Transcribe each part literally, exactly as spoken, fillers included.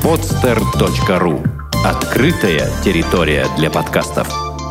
подстер точка ру. Открытая территория для подкастов.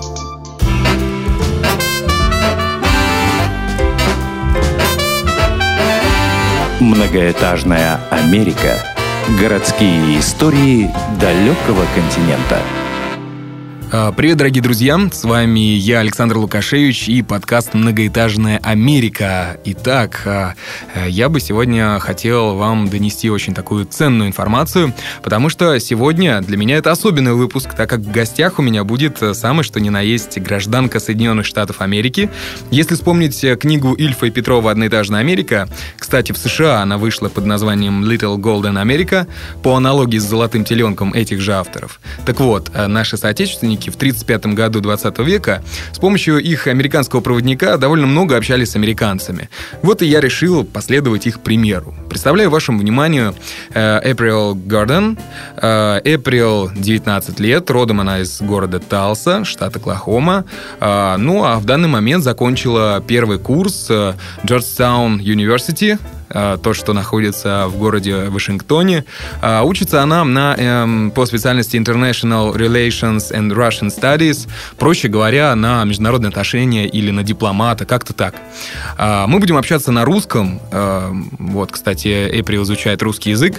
Многоэтажная Америка. Городские истории далекого континента. Привет, дорогие друзья! С вами я, Александр Лукашевич, и подкаст «Многоэтажная Америка». Итак, я бы сегодня хотел вам донести очень такую ценную информацию, потому что сегодня для меня это особенный выпуск, так как в гостях у меня будет самый что ни на есть гражданка Соединенных Штатов Америки. Если вспомнить книгу Ильфа и Петрова «Одноэтажная Америка», кстати, в США она вышла под названием «Little Golden America», по аналогии с «Золотым теленком» этих же авторов. Так вот, наши соотечественники в тридцать пятом году двадцатого века с помощью их американского проводника довольно много общались с американцами. Вот и я решил последовать их примеру. Представляю вашему вниманию Эприл Гордон. Эприл девятнадцать лет, родом она из города Талса, штат Оклахома. Ну, а в данный момент закончила первый курс Georgetown University, то, что находится в городе Вашингтоне. Учится она на, эм, по специальности International Relations and Russian Studies, проще говоря, на международные отношения или на дипломата, как-то так. Мы будем общаться на русском. Вот, кстати, Эприл изучает русский язык.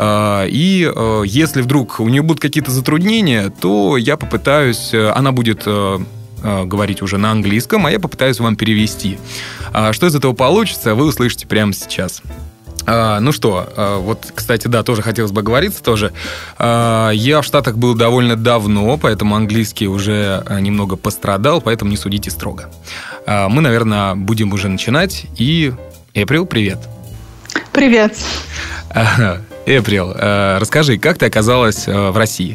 И если вдруг у нее будут какие-то затруднения, то я попытаюсь... Она будет... говорить уже на английском, а я попытаюсь вам перевести. Что из этого получится, вы услышите прямо сейчас. Ну что, вот, кстати, да, тоже хотелось бы оговориться тоже. Я в Штатах был довольно давно, поэтому английский уже немного пострадал, поэтому не судите строго. Мы, наверное, будем уже начинать. И, Эприл, привет. Привет. Эприл, расскажи, как ты оказалась в России?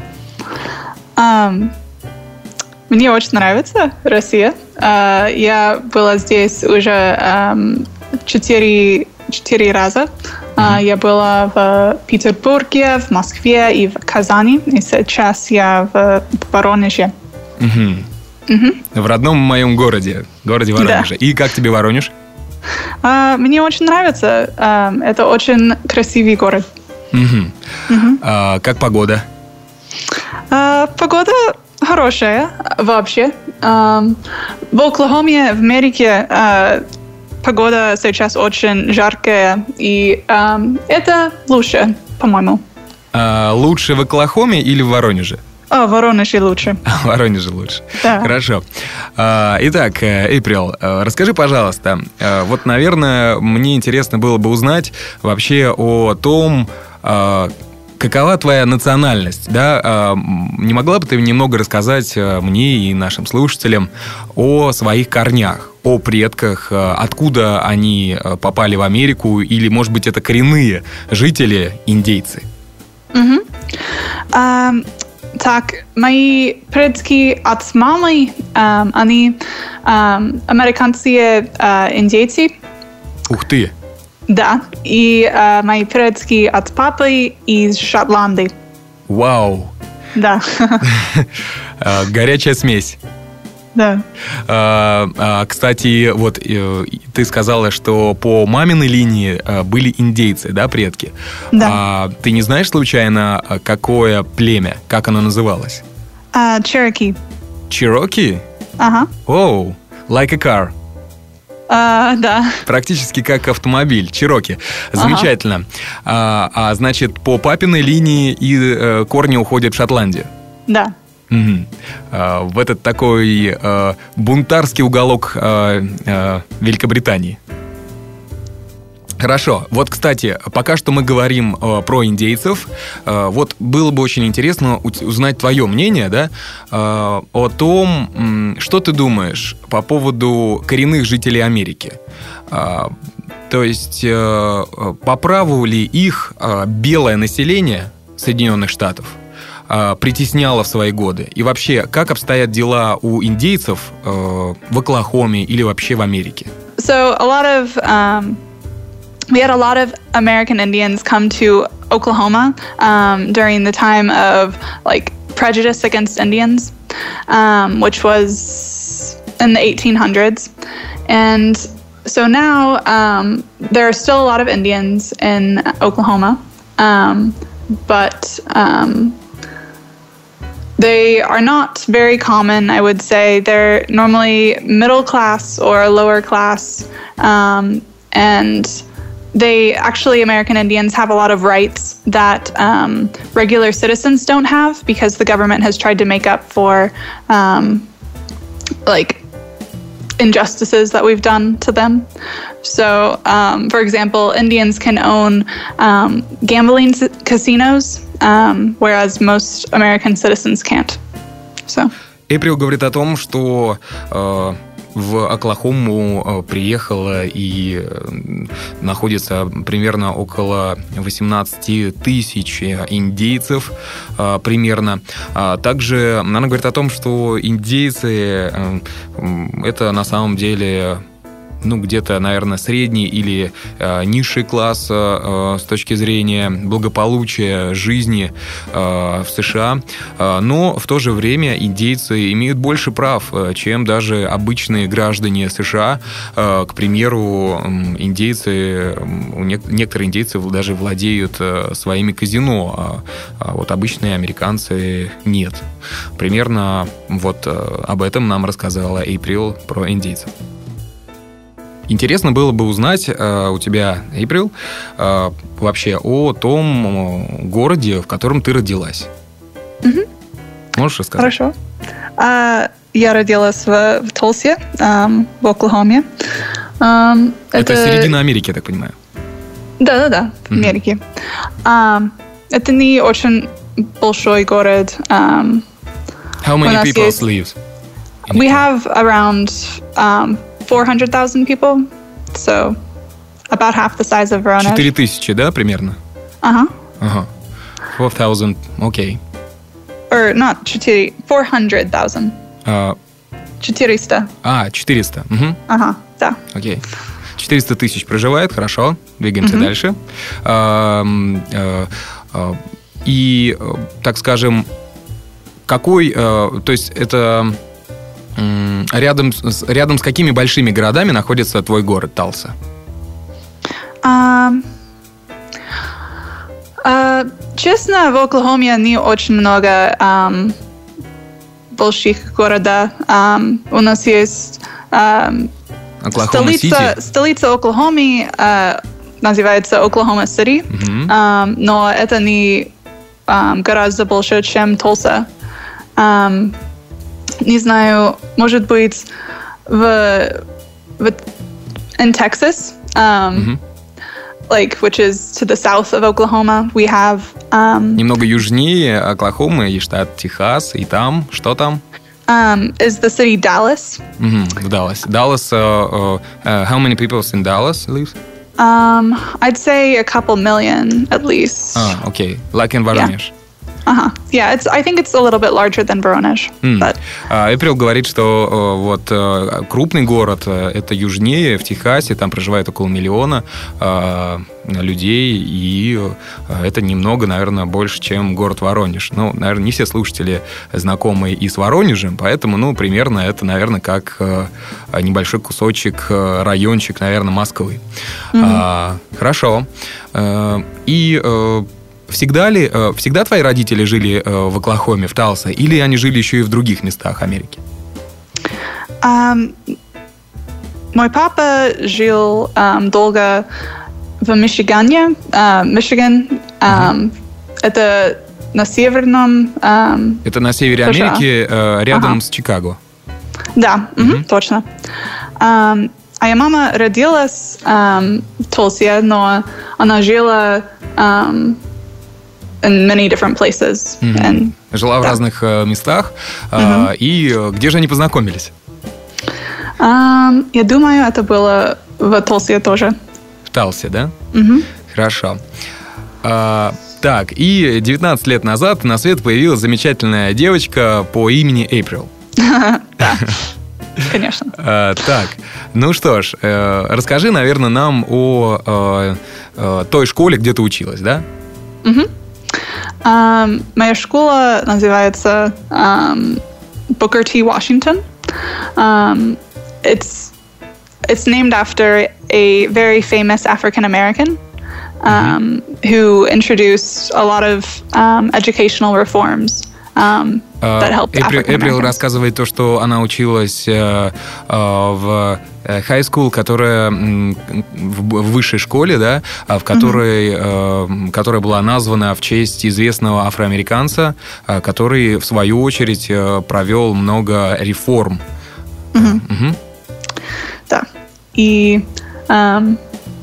Um... Мне очень нравится Россия. Я была здесь уже четыре, четыре раза. Mm-hmm. Я была в Петербурге, в Москве и в Казани. И сейчас я в Воронеже. Mm-hmm. Mm-hmm. В родном моем городе, городе Воронеже. Да. И как тебе Воронеж? Мне очень нравится. Это очень красивый город. Mm-hmm. Mm-hmm. А, как погода? Погода... хорошая вообще. В Оклахоме, в Америке, погода сейчас очень жаркая, и это лучше, по-моему. А лучше в Оклахоме или в Воронеже? А, в Воронеже лучше. В Воронеже лучше. Да. Хорошо. Итак, Эприл, расскажи, пожалуйста, вот, наверное, мне интересно было бы узнать вообще о том, какова твоя национальность, да? Не могла бы ты немного рассказать мне и нашим слушателям о своих корнях, о предках, откуда они попали в Америку, или, может быть, это коренные жители, индейцы? Угу. А, так, мои предки от мамы, а, они а, американские а, индейцы. Ух ты! Да, и э, мои предки от папы из Шотландии. Вау! Да. Горячая смесь. Да. Кстати, вот ты сказала, что по маминой линии были индейцы, да, предки? Да. Ты не знаешь случайно, какое племя, как оно называлось? Cherokee. Cherokee? Ага. Оу, like a car. А, да. Практически как автомобиль, Чироки. Замечательно. Ага. А, а значит, по папиной линии и э, корни уходят в Шотландию. Да. Угу. А, в этот такой э, бунтарский уголок э, э, Великобритании. Хорошо. Вот, кстати, пока что мы говорим э, про индейцев. Э, вот было бы очень интересно узнать твое мнение, да, э, о том, м, что ты думаешь по поводу коренных жителей Америки. Э, то есть, э, по праву ли их э, белое население Соединенных Штатов э, притесняло в свои годы? И вообще, как обстоят дела у индейцев э, в Оклахоме или вообще в Америке? So, a lot of... Um... We had a lot of American Indians come to Oklahoma um, during the time of like prejudice against Indians, um, which was in the eighteen hundreds. And so now um, there are still a lot of Indians in Oklahoma, um, but um, they are not very common, I would say. They're normally middle class or lower class, um, and they actually, American Indians have a lot of rights that um, regular citizens don't have because the government has tried to make up for um, like injustices that we've done to them. So, um, for example, Indians can own um, gambling c- casinos, um, whereas most American citizens can't. So. Эйприл говорит о том, что э, в Оклахому э, приехало и э, находится примерно около восемнадцать тысяч индейцев э, примерно. А также она говорит о том, что индейцы э, это на самом деле... ну, где-то, наверное, средний или э, низший класс э, с точки зрения благополучия жизни э, в США. Э, но в то же время индейцы имеют больше прав, э, чем даже обычные граждане США. Э, к примеру, индейцы, у не, некоторые индейцы даже владеют э, своими казино, а, а вот обычные американцы нет. Примерно вот э, об этом нам рассказала Эйприл про индейцев. Интересно было бы узнать э, у тебя, Эйприл, э, вообще о том городе, в котором ты родилась. Mm-hmm. Можешь рассказать? Хорошо. Uh, я родилась в, в Толсе, um, в Оклахоме. Um, это, это середина Америки, я так понимаю. Да-да-да, в mm-hmm. Америке. Um, это не очень большой город. Um, How many people есть... live? We have around... Um, four hundred thousand people, so about half the size of Voronezh. Четыре тысячи, да, примерно? Ага. Ага. Four thousand, окей. Or not четыре, four hundred thousand. Четыреста. А, четыреста. Угу. Ага, да. Окей. Четыреста тысяч проживает, хорошо. Двигаемся угу. дальше. А, а, а, и, так скажем, какой, а, то есть это... Рядом с, рядом с какими большими городами находится твой город Талса? Um, uh, честно, в Оклахоме не очень много um, больших городов. Um, у нас есть um, столица, столица Оклахомы, uh, называется Оклахома-Сити, uh-huh. um, но это не um, гораздо больше, чем Толса. Um, Не знаю, может быть, в, в in Texas, um, mm-hmm. like which is to the south of Oklahoma, we have um, немного южнее Оклахомы и штат Техас, и там что там? Um, is the city Dallas? Mm-hmm, Dallas. Dallas. Uh, uh, how many people in Dallas live? Um, I'd say a couple million at least. Ah, okay, like in Voronezh. Yeah. Uh-huh. Yeah, it's. I think it's a little bit larger than Voronezh. Mm. But... Эйприл говорит, что вот крупный город это южнее, в Техасе, там проживает около миллиона людей, и это немного, наверное, больше, чем город Воронеж. Ну, наверное, не все слушатели знакомы и с Воронежем, поэтому, ну, примерно это, наверное, как небольшой кусочек, райончик, наверное, Москвы. Mm-hmm. А, хорошо. И Всегда ли, всегда твои родители жили в Оклахоме, в Талсе, или они жили еще и в других местах Америки? Um, мой папа жил um, долго в Мичигане. Uh, Мичиган. Um, uh-huh. Это на северном... Um, это на севере Америки, uh, рядом uh-huh. с Чикаго. Да, uh-huh. Uh-huh, точно. Um, а я мама родилась um, в Толсе, но она жила... Um, in many different places. Mm-hmm. And, Жила да. в разных uh, местах. Uh, mm-hmm. И uh, где же они познакомились? Um, я думаю, это было в Толсе тоже. В Талсе, да? Mm-hmm. Хорошо. Uh, так, и девятнадцать лет назад на свет появилась замечательная девочка по имени Эйприл. Да, конечно. Так, ну что ж, расскажи, наверное, нам о той школе, где ты училась, да? Угу. Um, моя школа называется um, Booker T. Washington. Um, it's it's named after a very famous African American. um, mm-hmm. who introduced a lot of um, educational reforms. Um, Эприл рассказывает то, что она училась э, э, в high school, которая в высшей школе, да, в которой, mm-hmm. э, которая была названа в честь известного афроамериканца, э, который, в свою очередь, э, провел много реформ. Mm-hmm. Mm-hmm. Да. И um,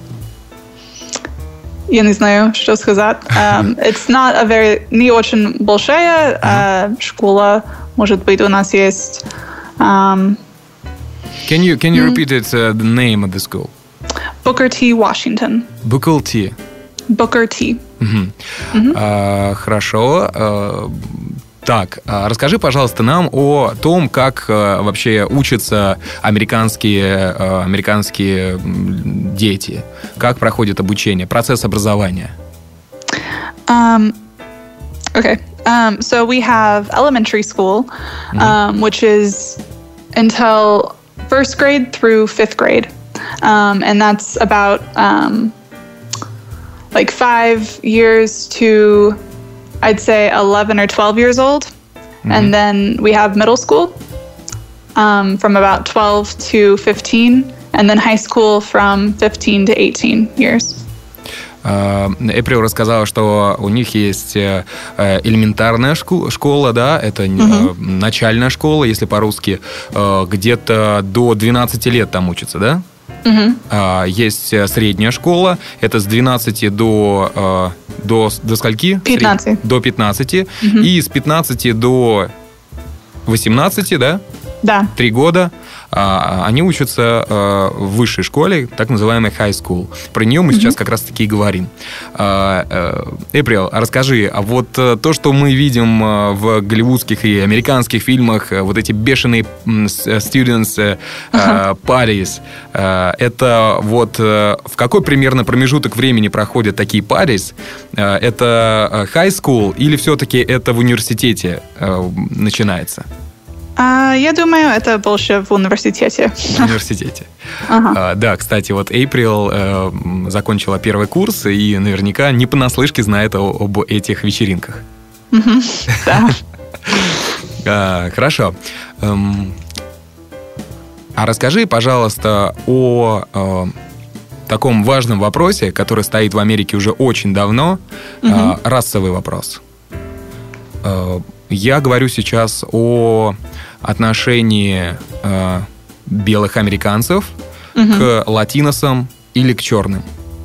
я не знаю, что сказать. Um, it's not a very... Не очень большая uh, школа. Может быть, у нас есть... Um, can you, can you repeat it, uh, the name of the school? Booker T. Washington. Booker T. Booker T. Uh-huh. Uh-huh. Uh, хорошо. Uh, Так, расскажи, пожалуйста, нам о том, как вообще учатся американские, американские дети, как проходит обучение, процесс образования. Um, okay, um, so we have elementary school, um, mm-hmm. which is until first grade through fifth grade, um, and that's about um, like five years to, I'd say, eleven or twelve years old. Mm-hmm. And then we have middle school um, from about twelve to fifteen. And then high school from fifteen to eighteen years. Эприл рассказала, что у них есть элементарная школа, да, это mm-hmm. начальная школа, если по-русски, где-то до двенадцати лет там учатся, да? Mm-hmm. Есть средняя школа, это с двенадцати до, до, до скольки? пятнадцати. До пятнадцати. Mm-hmm. И с пятнадцати до восемнадцати, да? Да. Три года. Они учатся в высшей школе, так называемой high school. Про нее мы mm-hmm. сейчас как раз-таки и говорим. Эприл, расскажи, а вот то, что мы видим в голливудских и американских фильмах, вот эти бешеные students uh-huh. parties, это вот в какой примерно промежуток времени проходят такие parties? Это high school или все-таки это в университете начинается? Uh, я думаю, это больше в университете. В университете. Uh-huh. Uh, да, кстати, вот Эйприл uh, закончила первый курс и наверняка не понаслышке знает о, об этих вечеринках. Uh-huh. Да. uh, хорошо. Um, а расскажи, пожалуйста, о uh, таком важном вопросе, который стоит в Америке уже очень давно, uh-huh. uh, расовый вопрос. Uh, я говорю сейчас о отношении э, белых американцев mm-hmm. к латиносам или к черным?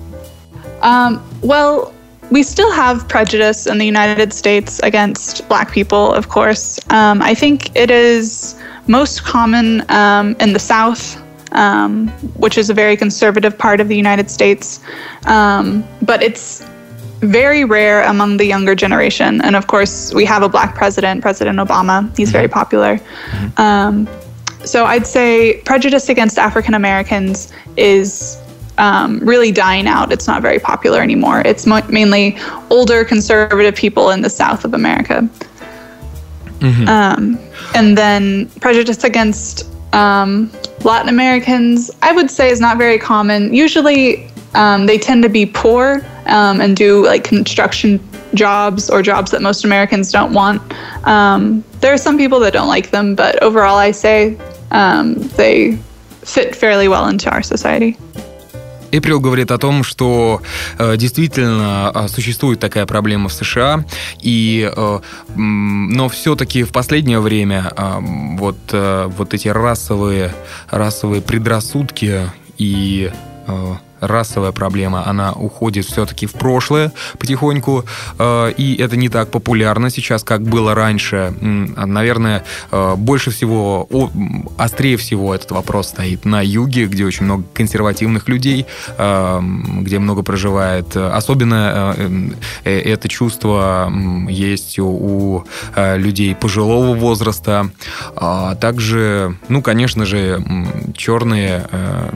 Um, well, we still have prejudice in the United States against black people, of course. Um, I think it is most common um, in the South, um, which is a very conservative part of the United States. Um, but it's very rare among the younger generation. And of course, we have a black president, President Obama. He's mm-hmm. very popular. Mm-hmm. Um, so I'd say prejudice against African Americans is um, really dying out. It's not very popular anymore. It's mo- mainly older conservative people in the South of America. Mm-hmm. Um, and then prejudice against um, Latin Americans, I would say, is not very common. Usually, Um, they tend to be poor um, and do like construction jobs or jobs that most Americans don't want. Um, there are some people that don't like them, but overall I say um, they fit fairly well into our society. Эприл говорит о том, что э, действительно э, существует такая проблема в США, и, э, но все-таки в последнее время э, вот, э, вот эти расовые, расовые предрассудки и э, расовая проблема, она уходит все-таки в прошлое потихоньку, и это не так популярно сейчас, как было раньше. Наверное, больше всего, острее всего этот вопрос стоит на юге, где очень много консервативных людей, где много проживает. Особенно это чувство есть у людей пожилого возраста. Также, ну, конечно же, черные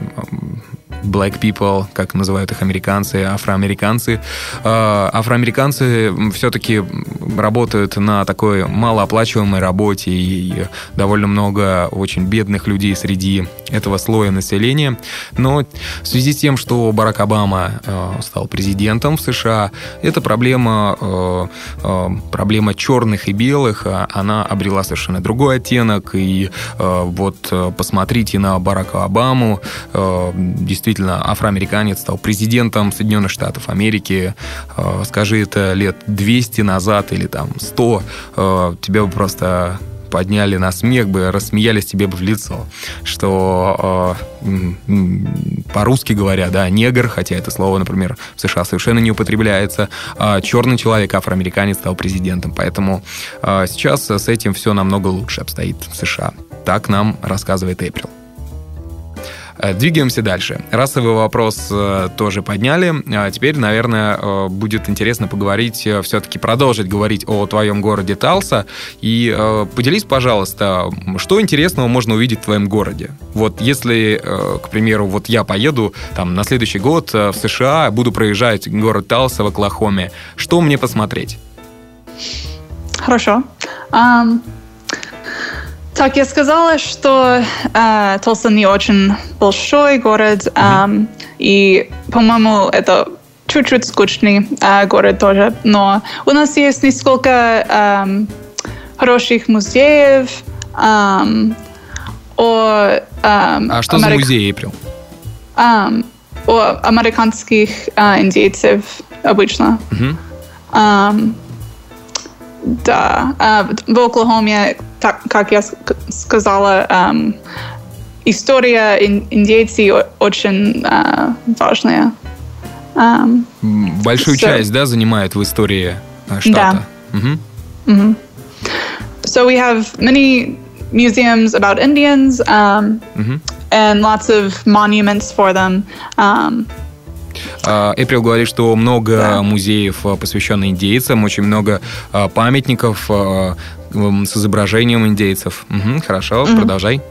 black people, как называют их американцы, афроамериканцы. Афроамериканцы все-таки работают на такой малооплачиваемой работе, и довольно много очень бедных людей среди этого слоя населения. Но в связи с тем, что Барак Обама стал президентом в США, эта проблема, проблема черных и белых, она обрела совершенно другой оттенок. И вот посмотрите на Барака Обаму. Действительно, афроамериканец стал президентом Соединенных Штатов Америки. Скажи это лет двести назад или там сто, тебя бы просто подняли на смех бы, рассмеялись тебе бы в лицо, что э, по-русски говоря, да, негр, хотя это слово, например, в США совершенно не употребляется, а черный человек, афроамериканец, стал президентом. Поэтому э, сейчас с этим все намного лучше обстоит в США. Так нам рассказывает Эйприл. Двигаемся дальше. Расовый вопрос э, тоже подняли. А теперь, наверное, э, будет интересно поговорить, э, все-таки продолжить говорить о твоем городе Талса. И э, поделись, пожалуйста, что интересного можно увидеть в твоем городе? Вот если, э, к примеру, вот я поеду там на следующий год э, в США, буду проезжать город Талса в Оклахоме, что мне посмотреть? Хорошо. Um... Так, я сказала, что э, Толса не очень большой город, э, mm-hmm. и, по-моему, это чуть-чуть скучный э, город тоже. Но у нас есть несколько э, хороших музеев. Э, о, э, а что Америк... за музей, Эйприл? Э, о американских э, индейцев обычно. Mm-hmm. Э, да, э, в Оклахоме, так, как я сказала, um, история индейцев очень uh, важная. Um, Большую so, часть, да, занимает в истории штата? Да. Mm-hmm. Mm-hmm. So we have many museums about Indians um, mm-hmm. and lots of monuments for them. Um, Эйприл говорит, что много да. музеев, посвященных индейцам, очень много памятников с изображением индейцев. Угу, хорошо, mm-hmm. продолжай.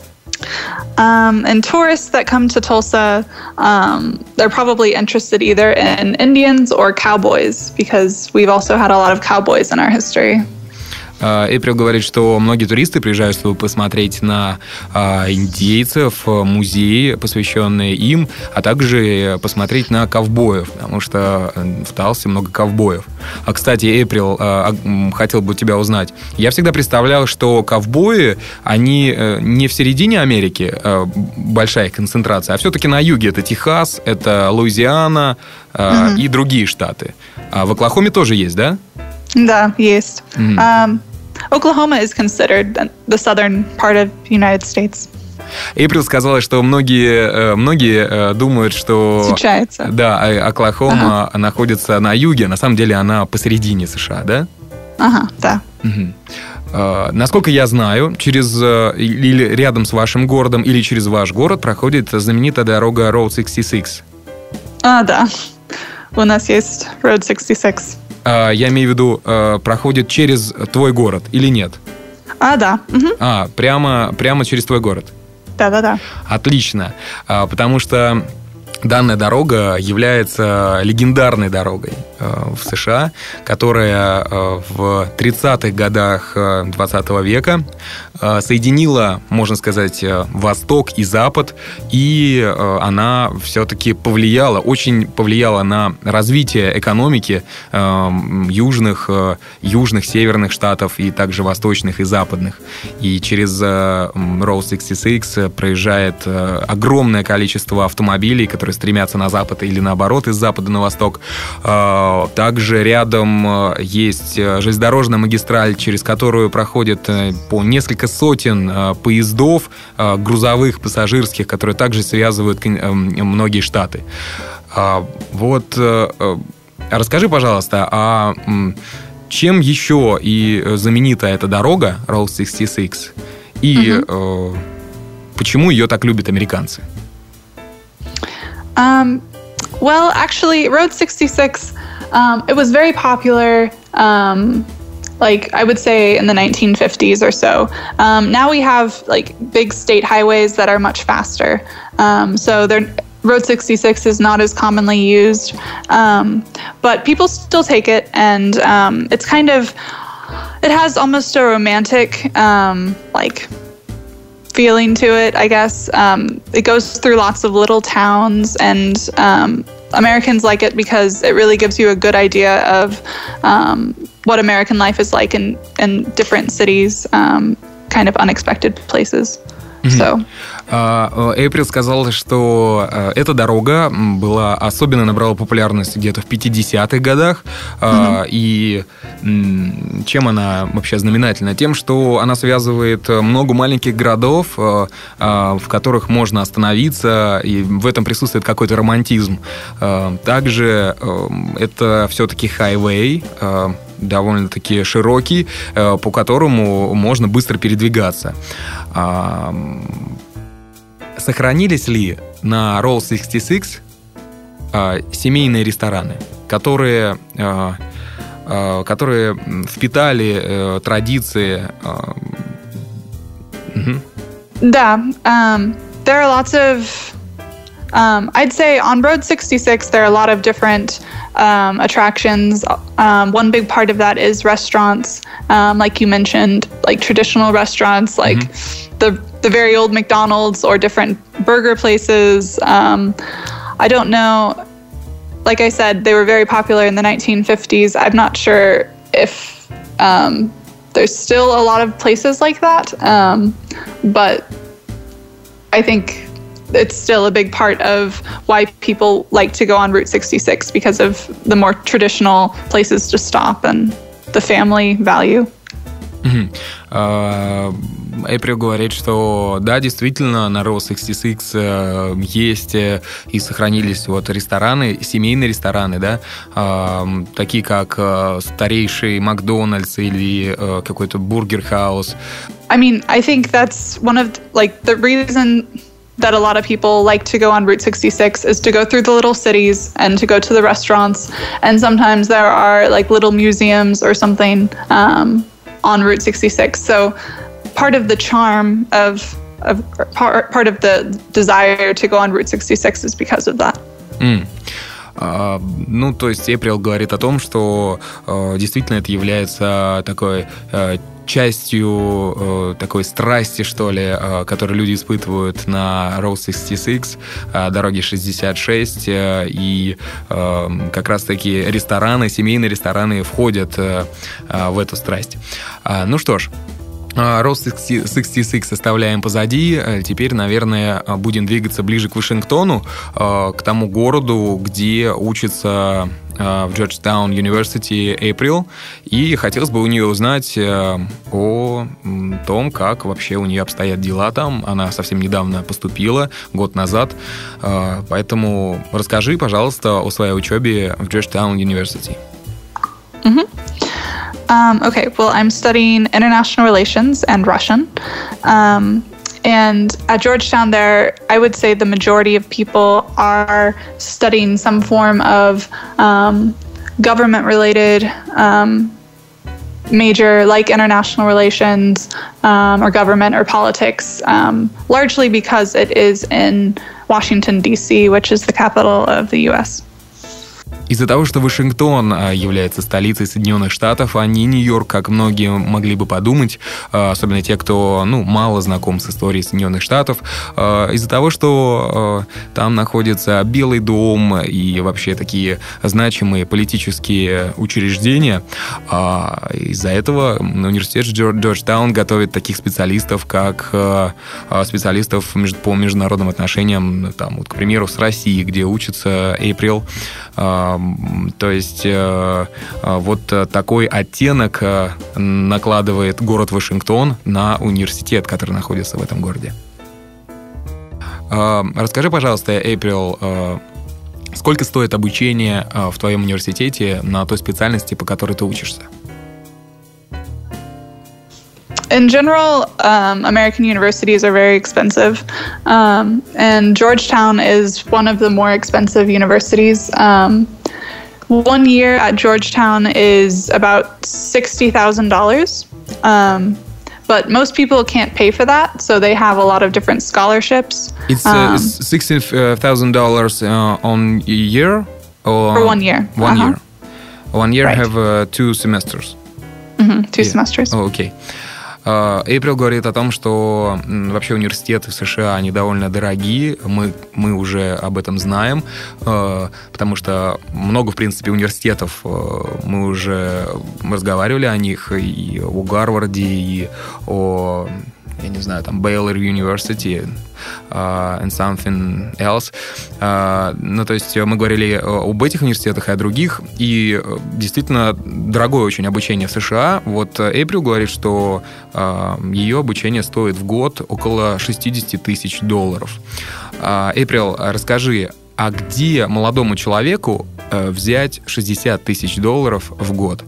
Um, and tourists that come to Tulsa, um, they're probably interested either in Indians or cowboys, because we've also had a lot of cowboys in our history. Эйприл говорит, что многие туристы приезжают, чтобы посмотреть на а, индейцев, музеи, посвященные им, а также посмотреть на ковбоев, потому что в Талсе много ковбоев. А, кстати, Эйприл, а, хотел бы тебя узнать. Я всегда представлял, что ковбои, они не в середине Америки, а, большая их концентрация, а все-таки на юге. Это Техас, это Луизиана а, mm-hmm. и другие штаты. А в Оклахоме тоже есть, да? Да, есть. Mm-hmm. Um, Oklahoma is considered the southern part of the United States. Эйприл сказала, что многие, многие думают, что Случается. Да, Оклахома ага. находится на юге, на самом деле она посередине США, да? Ага, да. Угу. Uh, насколько я знаю, через или рядом с вашим городом, или через ваш город проходит знаменитая дорога Road шестьдесят шесть. А, да. У нас есть Road шестьдесят шесть. Uh, я имею в виду, uh, проходит через твой город или нет? А, да. Угу. А, прямо, прямо через твой город? Да-да-да. Отлично. Uh, потому что данная дорога является легендарной дорогой э, в США, которая э, в тридцатых годах двадцатого века э, соединила, можно сказать, э, Восток и Запад, и э, она все-таки повлияла, очень повлияла на развитие экономики э, южных, э, южных, северных штатов и также восточных и западных. И через э, Road шестьдесят шесть проезжает э, огромное количество автомобилей, которые стремятся на запад или наоборот из запада на восток. Также рядом есть железнодорожная магистраль, через которую проходит по несколько сотен поездов грузовых, пассажирских, которые также связывают многие штаты. Вот расскажи, пожалуйста, а чем еще и знаменита эта дорога Road шестьдесят шесть и mm-hmm. почему ее так любят американцы? Um, well, actually, Road sixty-six, um, it was very popular, um, like, I would say in the nineteen fifties or so. Um, now we have, like, big state highways that are much faster. Um, so they're, Road sixty-six is not as commonly used. Um, but people still take it, and um, it's kind of it has almost a romantic, um, like, feeling to it, I guess. Um, it goes through lots of little towns, and um, Americans like it because it really gives you a good idea of um, what American life is like in, in different cities, um, kind of unexpected places. So. Эйприл сказала, что эта дорога была особенно набрала популярность где-то в пятидесятых годах. Mm-hmm. И чем она вообще знаменательна? Тем, что она связывает много маленьких городов, в которых можно остановиться, и в этом присутствует какой-то романтизм. Также это все-таки хайвей, довольно-таки широкий, по которому можно быстро передвигаться. Сохранились ли на Route шестьдесят шесть семейные рестораны, которые, которые впитали традиции? Да, um, there are lots of Um, I'd say on Route sixty-six, there are a lot of different um, attractions. Um, one big part of that is restaurants, um, like you mentioned, like traditional restaurants, like mm-hmm. the the very old McDonald's or different burger places. Um, I don't know. Like I said, they were very popular in the nineteen fifties. I'm not sure if um, there's still a lot of places like that, um, but I think it's still a big part of why people like to go on Route sixty-six because of the more traditional places to stop and the family value. Эйприл говорит, что да, действительно, на Route шестьдесят шесть есть и сохранились вот рестораны, семейные рестораны, да, такие как старейший Макдональдс или какой-то бургер-хаус. I mean, I think that's one of, like, the reason that a lot of people like to go on Route sixty-six is to go through the little cities and to go to the restaurants. And sometimes there are like little museums or something um, on Route sixty-six. So part of the charm of, of part, part of the desire to go on Route sixty-six is because of that. Mm. Uh, ну, то есть Эйприл говорит о том, что uh, действительно это является такой uh, частью э, такой страсти, что ли, э, которую люди испытывают на Route шестьдесят шесть, э, дороге шестьдесят шесть, э, и э, как раз-таки рестораны, семейные рестораны входят э, э, в эту страсть. Э, ну что ж, Route шестьдесят шесть оставляем позади. Теперь, наверное, будем двигаться ближе к Вашингтону, к тому городу, где учится в Georgetown University Эйприл. И хотелось бы у нее узнать о том, как вообще у нее обстоят дела там. Она совсем недавно поступила, год назад. Поэтому расскажи, пожалуйста, о своей учебе в Georgetown University. Mm-hmm. Um, okay, well, I'm studying international relations and Russian. Um, and at Georgetown there, I would say the majority of people are studying some form of um, government-related um, major, like international relations um, or government or politics, um, largely because it is in Washington, D C, which is the capital of the U S Из-за того, что Вашингтон является столицей Соединенных Штатов, а не Нью-Йорк, как многие могли бы подумать, особенно те, кто ну, мало знаком с историей Соединенных Штатов, из-за того, что там находится Белый дом и вообще такие значимые политические учреждения, из-за этого университет Джорджтаун готовит таких специалистов, как специалистов по международным отношениям, там, вот, к примеру, с Россией, где учится Эйприл. То есть вот такой оттенок накладывает город Вашингтон на университет, который находится в этом городе. Расскажи, пожалуйста, Эйприл, сколько стоит обучение в твоем университете на той специальности, по которой ты учишься? In general, um, American universities are very expensive, um, and Georgetown is one of the more expensive universities. Um, one year at Georgetown is about sixty thousand dollars, um, but most people can't pay for that, so they have a lot of different scholarships. It's uh, um, sixty thousand dollars uh, on a year? Or for one year. One uh-huh. year. One year right. have uh, two semesters. Mm-hmm. Two yeah. semesters. Oh, окей. Эйприл говорит о том, что вообще университеты в США, они довольно дорогие, мы, мы уже об этом знаем, потому что много, в принципе, университетов, мы уже разговаривали о них и о Гарварде, и о, я не знаю, там, Baylor University, Uh, and something else. Uh, ну, то есть мы говорили об этих университетах и о других, и действительно дорогое очень обучение в США. Вот Эйприл говорит, что uh, ее обучение стоит в год около шестьдесят тысяч долларов. Эйприл, uh, расскажи, а где молодому человеку uh, взять шестьдесят тысяч долларов в год?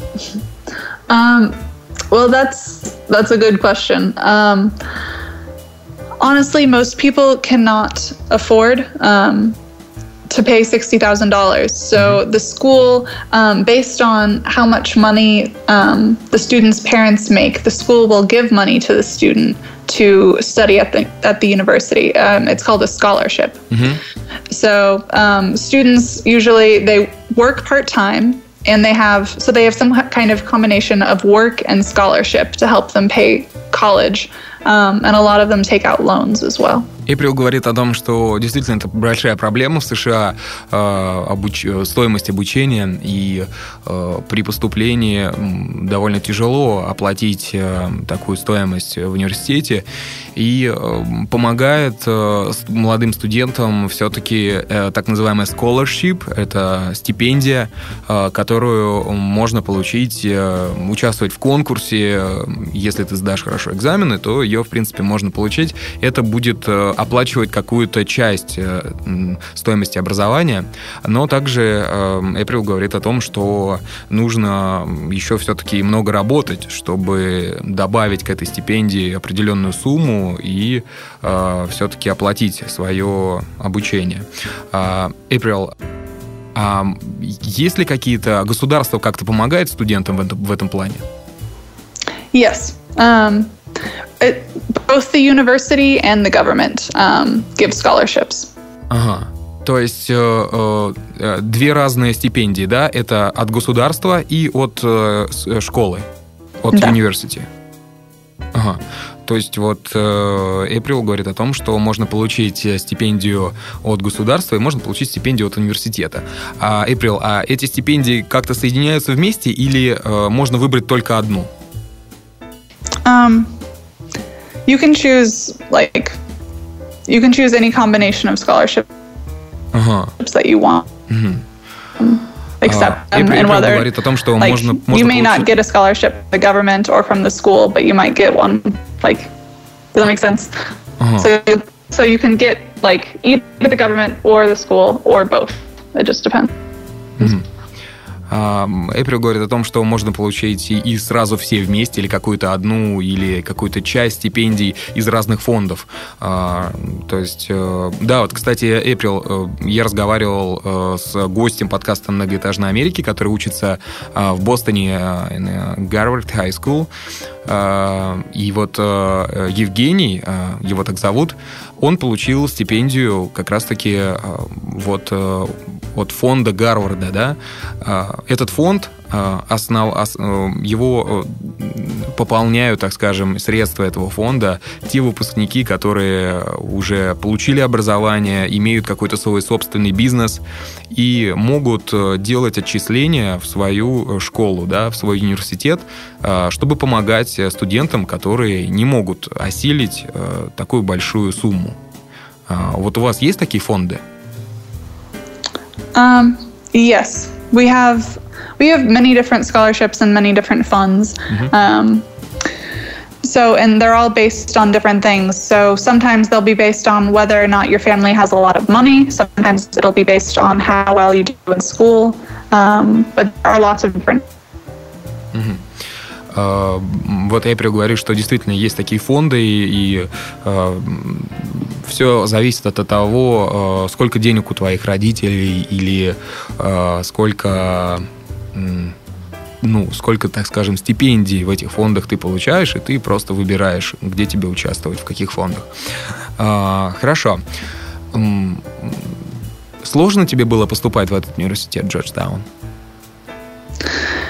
Um, well, that's, that's a good question. Um, Honestly, most people cannot afford um, to pay sixty thousand dollars. So the school, um, based on how much money um, the student's parents make, the school will give money to the student to study at the at the university. Um, it's called a scholarship. Mm-hmm. So um, students usually, they work part-time, and they have, so they have some kind of combination of work and scholarship to help them pay college. Um, and a lot of them take out loans as well. Эйприл говорит о том, что действительно это большая проблема в США, э, обуч... стоимость обучения, и э, при поступлении довольно тяжело оплатить э, такую стоимость в университете, и э, помогает э, молодым студентам все-таки э, так называемая scholarship, это стипендия, э, которую можно получить, э, участвовать в конкурсе, э, если ты сдашь хорошо экзамены, то ее, в принципе, можно получить. Это будет э, оплачивать какую-то часть э, стоимости образования, но также Эйприл э, говорит о том, что нужно еще все-таки много работать, чтобы добавить к этой стипендии определенную сумму и э, все-таки оплатить свое обучение. Эйприл, а есть ли какие-то государства как-то помогают студентам в этом, в этом плане? Yes. Um... It, both the university and the government um, give scholarships. Ага. То есть э, э, две разные стипендии, да? Это от государства и от э, школы, от да. университета. Ага. То есть вот Эйприл говорит о том, что можно получить стипендию от государства и можно получить стипендию от университета. А, Эйприл, а эти стипендии как-то соединяются вместе или э, можно выбрать только одну? Um, you can choose, like, you can choose any combination of scholarships uh-huh. that you want. Mm-hmm. Um, accept them, and whether, говорит о том, что like, можно, можно you may получить... not get a scholarship from the government or from the school, but you might get one. Like, does that make sense? Uh-huh. So, so you can get, like, either the government or the school or both. It just depends. Mm-hmm. Эйприл говорит о том, что можно получить и сразу все вместе, или какую-то одну, или какую-то часть стипендий из разных фондов. То есть, да, вот, кстати, Эйприл, я разговаривал с гостем подкаста «Многоэтажной Америки», который учится в Бостоне, Гарвард High School. И вот Евгений, его так зовут, он получил стипендию как раз-таки вот от фонда Гарварда, да. Этот фонд, основ, его пополняют, так скажем, средства этого фонда те выпускники, которые уже получили образование, имеют какой-то свой собственный бизнес и могут делать отчисления в свою школу, да, в свой университет, чтобы помогать студентам, которые не могут осилить такую большую сумму. Вот у вас есть такие фонды? Um, yes, we have we have many different scholarships and many different funds. Mm-hmm. Um, so, and they're all based on different things. So sometimes they'll be based on whether or not your family has a lot of money. Sometimes it'll be based on how well you do in school. Um, but there are lots of different. Mm-hmm. Uh, вот Эйприл говорит, что действительно есть такие фонды, и, и uh, все зависит от того, uh, сколько денег у твоих родителей, или uh, сколько, um, ну, сколько, так скажем, стипендий в этих фондах ты получаешь, и ты просто выбираешь, где тебе участвовать, в каких фондах. Uh, хорошо. Um, сложно тебе было поступать в этот университет, Джорджтаун?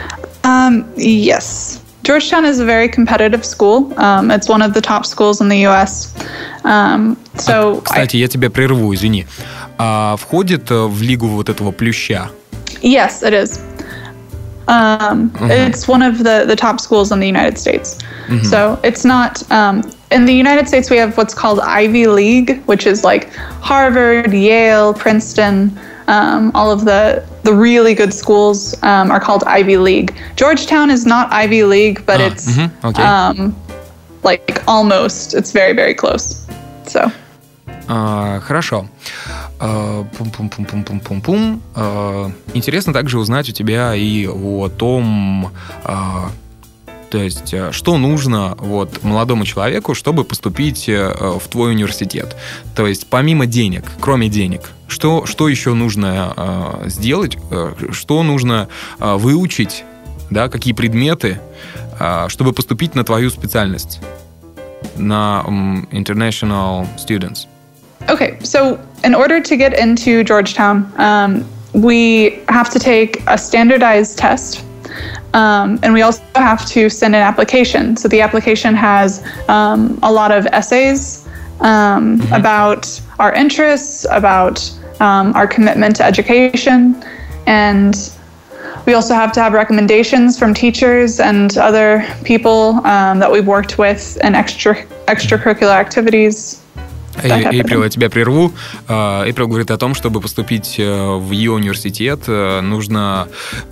Um, yes. Georgetown is a very competitive school. Um, it's one of the top schools in the ю эс. Um, so а, кстати, I... я тебя прерву, извини. А входит в лигу вот этого плюща? Yes, it is. Um, uh-huh. It's one of the, the top schools in the United States. Mm-hmm. So it's not... Um, in the United States, we have what's called Ivy League, which is like Harvard, Yale, Princeton... Um, all of the, the really good schools um, are called Ivy League. Georgetown is not Ivy League, but ah, it's mm-hmm, okay. um, like almost. It's very, very close. So. Uh, хорошо. Uh, пум-пум-пум-пум-пум-пум. Uh, интересно также узнать у тебя и о том, uh, то есть, что нужно вот, молодому человеку, чтобы поступить в твой университет. То есть, помимо денег, кроме денег, что, что еще нужно э, сделать, э, что нужно э, выучить, да, какие предметы, э, чтобы поступить на твою специальность, на um, International Students? Okay, so in order to get into Georgetown, um, we have to take a standardized test. Um, and we also have to send an application. So the application has um, a lot of essays um, mm-hmm. about our interests, about um, our commitment to education. And we also have to have recommendations from teachers and other people um, that we've worked with in extra extracurricular activities. Эйприл, я тебя прерву. Эйприл говорит о том, чтобы поступить в ее университет, нужно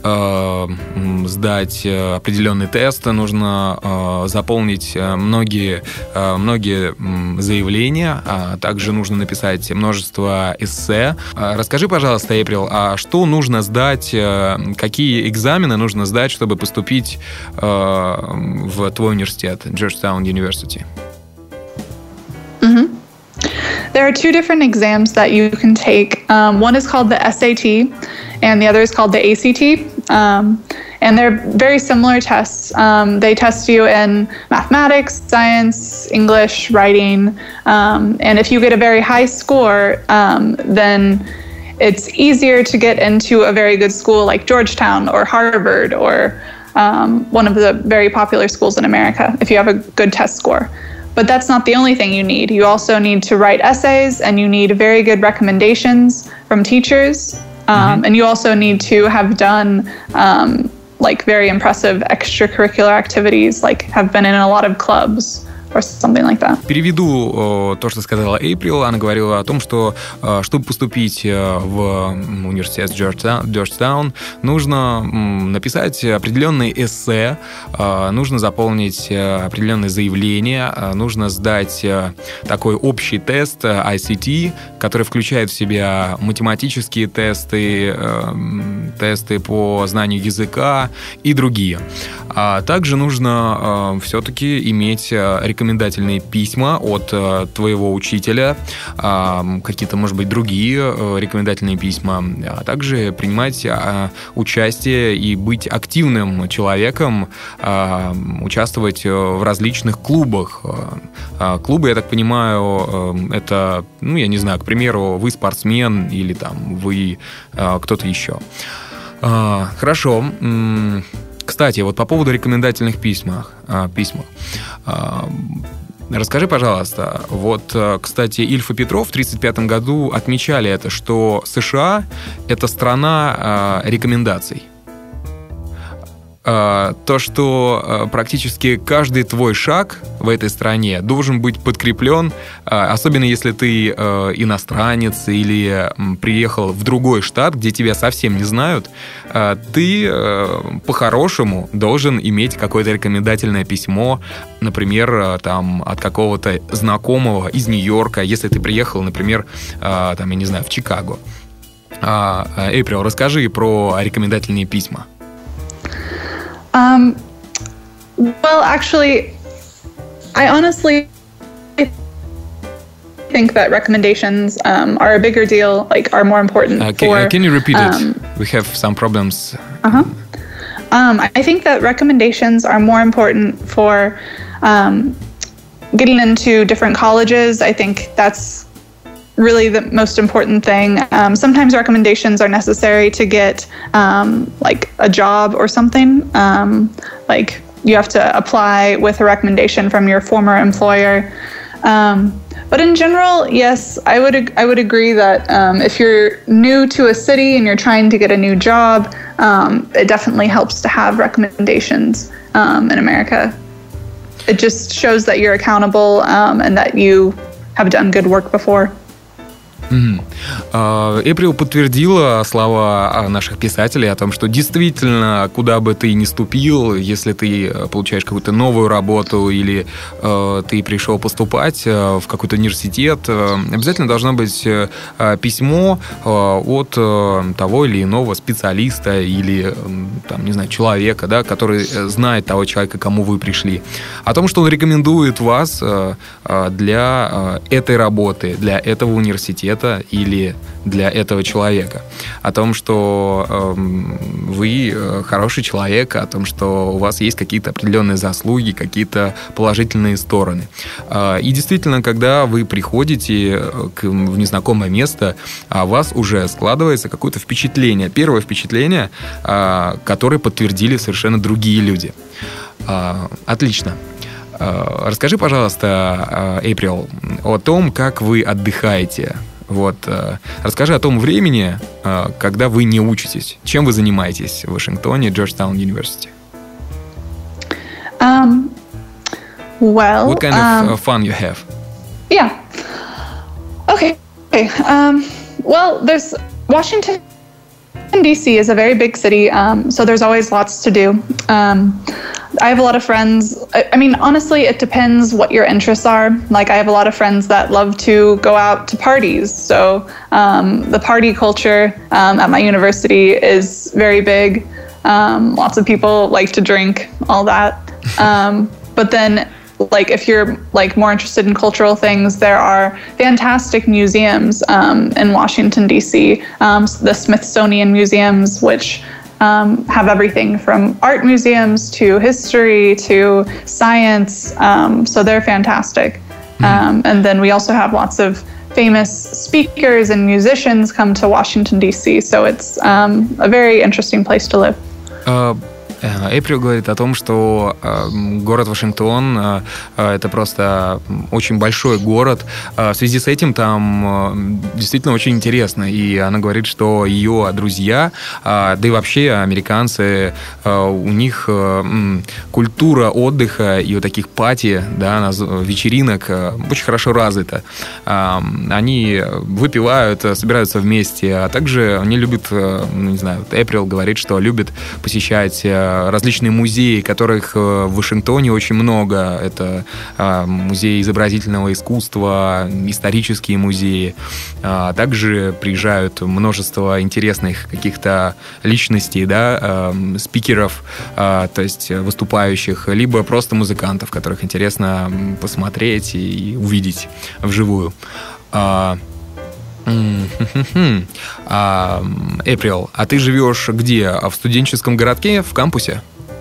сдать определенный тест, нужно заполнить многие, многие заявления, а также нужно написать множество эссе. Расскажи, пожалуйста, Эйприл, а что нужно сдать, какие экзамены нужно сдать, чтобы поступить в твой университет, Georgetown University? Mm-hmm. There are two different exams that you can take. Um, one is called the эс эй ти, and the other is called the эй си ти. Um, and they're very similar tests. Um, they test you in mathematics, science, English, writing. Um, and if you get a very high score, um, then it's easier to get into a very good school like Georgetown or Harvard or um, one of the very popular schools in America if you have a good test score. But that's not the only thing you need. You also need to write essays, and you need very good recommendations from teachers. Um, mm-hmm. And you also need to have done um, like very impressive extracurricular activities, like have been in a lot of clubs. Or something like that. Переведу то, что сказала Эйприл. Она говорила о том, что чтобы поступить в университет Georgetown, нужно написать определенные эссе, нужно заполнить определенные заявления, нужно сдать такой общий тест ай си ти, который включает в себя математические тесты, тесты по знанию языка и другие. А также нужно все-таки иметь рекомендации рекомендательные письма от э, твоего учителя, э, какие-то, может быть, другие э, рекомендательные письма, а также принимать э, участие и быть активным человеком, э, участвовать в различных клубах. Э, клубы, я так понимаю, э, это, ну, я не знаю, к примеру, вы спортсмен или там вы э, кто-то еще. Э, хорошо. Кстати, вот по поводу рекомендательных письмах, письмах. Расскажи, пожалуйста, вот, кстати, Ильф и Петров в тридцать пятом году отмечали это, что США – это страна рекомендаций. То, что практически каждый твой шаг в этой стране должен быть подкреплен, особенно если ты иностранец или приехал в другой штат, где тебя совсем не знают, ты по-хорошему должен иметь какое-то рекомендательное письмо, например, там, от какого-то знакомого из Нью-Йорка, если ты приехал, например, там, я не знаю, в Чикаго. Эйприл, расскажи про рекомендательные письма. Um, well, actually, I honestly think that recommendations um, are a bigger deal, like are more important uh, can, for... Uh, can you repeat um, it? We have some problems. Uh-huh. Um, I think that recommendations are more important for um, getting into different colleges. I think that's really the most important thing. Um, sometimes recommendations are necessary to get um, like a job or something. Um, like you have to apply with a recommendation from your former employer. Um, but in general, yes, I would I would agree that um, if you're new to a city and you're trying to get a new job, um, it definitely helps to have recommendations um, in America. It just shows that you're accountable um, and that you have done good work before. Эприл подтвердила слова наших писателей о том, что действительно, куда бы ты ни ступил, если ты получаешь какую-то новую работу или э, ты пришел поступать в какой-то университет, э, обязательно должно быть э, письмо э, от э, того или иного специалиста или, э, там, не знаю, человека, да, который знает того человека, к кому вы пришли, о том, что он рекомендует вас э, для э, этой работы, для этого университета или для этого человека, о том, что э, вы хороший человек, о том, что у вас есть какие-то определенные заслуги, какие-то положительные стороны. Э, и действительно, когда вы приходите к, в незнакомое место, о вас уже складывается какое-то впечатление, первое впечатление, э, которое подтвердили совершенно другие люди. Э, отлично. Э, расскажи, пожалуйста, Эйприл, о том, как вы отдыхаете. Вот. Расскажи о том времени, когда вы не учитесь. Чем вы занимаетесь в Вашингтоне, Georgetown University? Um, well, What kind um, of fun you have? Yeah. Okay. Okay. Um, well, there's Washington, D C is a very big city, um, so there's always lots to do. Um, I have a lot of friends. I, I mean, honestly, it depends what your interests are. Like, I have a lot of friends that love to go out to parties. So um, the party culture um, at my university is very big. Um, lots of people like to drink, all that. Um, but then, like, if you're like more interested in cultural things, there are fantastic museums um, in Washington, D C. Um, the Smithsonian museums, which Um, have everything from art museums to history to science, um, so they're fantastic. Um, and then we also have lots of famous speakers and musicians come to Washington, D C, so it's um, a very interesting place to live. Uh, Эприл говорит о том, что э, город Вашингтон э, это просто очень большой город. Э, в связи с этим там э, действительно очень интересно. И она говорит, что ее друзья, э, да и вообще американцы, э, у них э, культура отдыха и вот таких пати, да, вечеринок э, очень хорошо развита. Э, они выпивают, собираются вместе, а также они любят, э, ну, не знаю, Эприл говорит, что любит посещать э, различные музеи, которых в Вашингтоне очень много. Это музей изобразительного искусства, исторические музеи. Также приезжают множество интересных каких-то личностей, да, спикеров, то есть выступающих, либо просто музыкантов, которых интересно посмотреть и увидеть вживую. Эприл, а ты живешь где? В студенческом городке, в кампусе?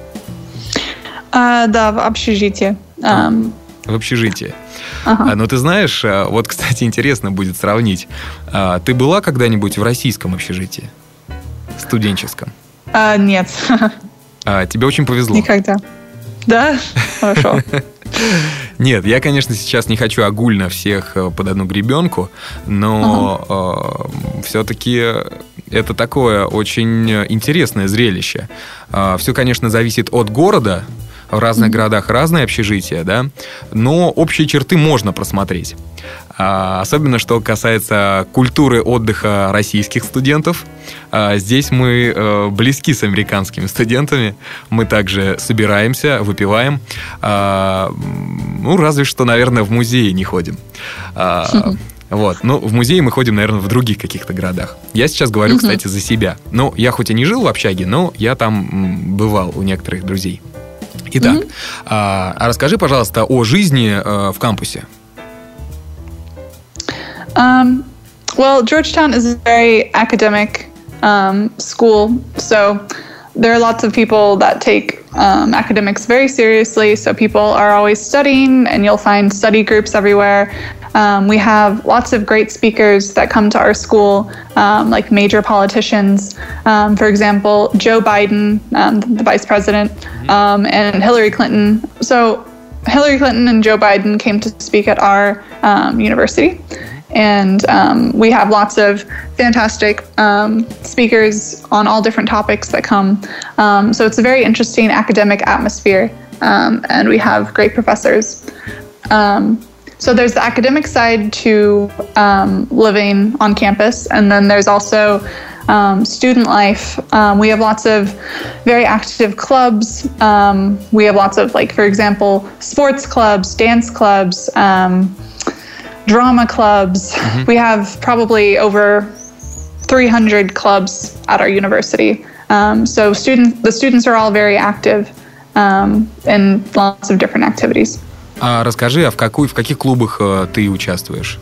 Uh, да, в общежитии. Um... В общежитии. Uh-huh. Но ты знаешь, вот, кстати, интересно будет сравнить. Ты была когда-нибудь в российском общежитии? Студенческом? Uh, нет. Тебе очень повезло. Никогда. Да? Хорошо. Нет, я, конечно, сейчас не хочу огульно всех под одну гребенку, но uh-huh. э, все-таки это такое очень интересное зрелище. Э, все, конечно, зависит от города. В разных mm-hmm. городах разные общежития, да, но общие черты можно просмотреть. А, особенно, что касается культуры отдыха российских студентов. А, здесь мы а, близки с американскими студентами. Мы также собираемся, выпиваем. А, ну, разве что, наверное, в музее не ходим. А, mm-hmm. Вот. Ну, в музее мы ходим, наверное, в других каких-то городах. Я сейчас говорю, mm-hmm. кстати, за себя. Ну, я хоть и не жил в общаге, но я там м, бывал у некоторых друзей. Итак, mm-hmm. а, а расскажи, пожалуйста, о жизни а, в кампусе. Um, well, Georgetown is a very academic um, school, so there are lots of people that take um, academics very seriously. So people are always studying, and you'll find study groups everywhere. Um, we have lots of great speakers that come to our school, um, like major politicians. Um, for example, Joe Biden, um, the vice president, um, and Hillary Clinton. So Hillary Clinton and Joe Biden came to speak at our um, university. And um, we have lots of fantastic um, speakers on all different topics that come. Um, so it's a very interesting academic atmosphere, um, and we have great professors. Um, so there's the academic side to um, living on campus, and then there's also um, student life. Um, we have lots of very active clubs. Um, we have lots of, like, for example, sports clubs, dance clubs, um, drama clubs. Mm-hmm. We have probably over three hundred clubs at our university. Um, so student, the students are all very active um, in lots of different activities. А расскажи, а в, какой, в каких клубах э, ты участвуешь?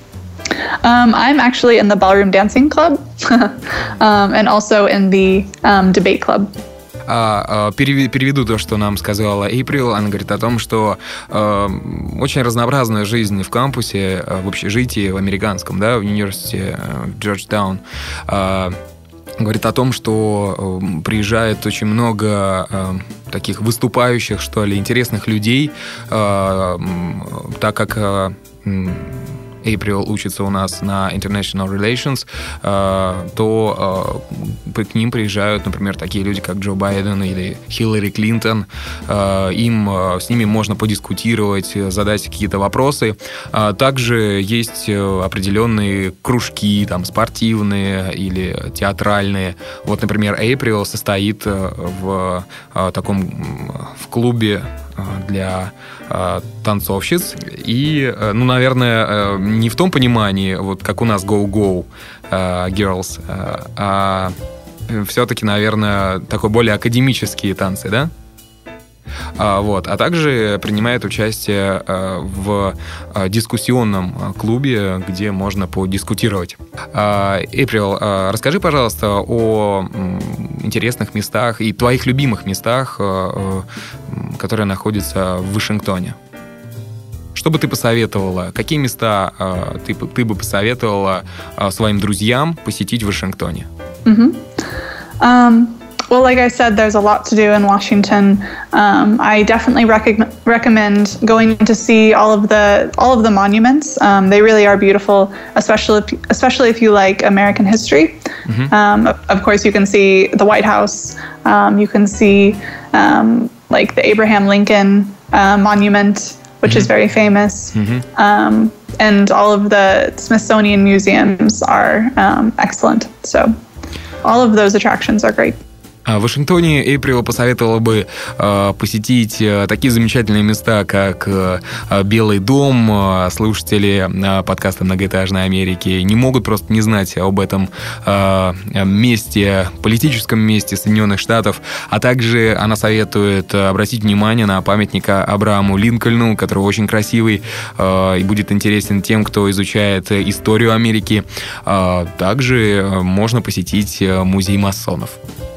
Um, I'm actually in the ballroom dancing club um, and also in the um, debate club. А, переведу то, что нам сказала Эйприл. Она говорит о том, что э, очень разнообразная жизнь в кампусе, в общежитии, в американском, да, в университете в Джорджтаун. Э, говорит о том, что э, приезжает очень много э, таких выступающих, что ли, интересных людей, э, так как э, Эйприл учится у нас на International Relations, э, то э, к ним приезжают, например, такие люди, как Джо Байден или Хиллари Клинтон. Э, им, э, с ними можно подискутировать, задать какие-то вопросы. Э, также есть определенные кружки, там, спортивные или театральные. Вот, например, Эйприл состоит в э, таком в клубе для э, танцовщиц. И, э, ну, наверное, э, не в том понимании, вот как у нас Go-Go э, Girls, э, а все-таки, наверное, такой более академические танцы, да? А, вот. А также принимает участие э, в э, дискуссионном клубе, где можно подискутировать. Эйприл, э, расскажи, пожалуйста, о э, интересных местах и твоих любимых местах, э, э, которые находятся в Вашингтоне. Что бы ты посоветовала? Какие места э, ты, ты бы посоветовала э, своим друзьям посетить в Вашингтоне? Mm-hmm. Um... Well, like I said, there's a lot to do in Washington. Um, I definitely rec- recommend going to see all of the all of the monuments. Um, they really are beautiful, especially if, especially if you like American history. Mm-hmm. Um, of, of course, you can see the White House. Um, you can see um, like the Abraham Lincoln uh, monument, which mm-hmm. is very famous. Mm-hmm. Um, and all of the Smithsonian museums are um, excellent. So all of those attractions are great. В Вашингтоне Эйприл посоветовала бы э, посетить э, такие замечательные места, как э, Белый дом. Слушатели э, подкаста «Многоэтажной Америки» не могут просто не знать об этом э, месте, политическом месте Соединенных Штатов. А также она советует обратить внимание на памятник Абрахаму Линкольну, который очень красивый э, и будет интересен тем, кто изучает историю Америки. Э, также можно посетить музей масонов.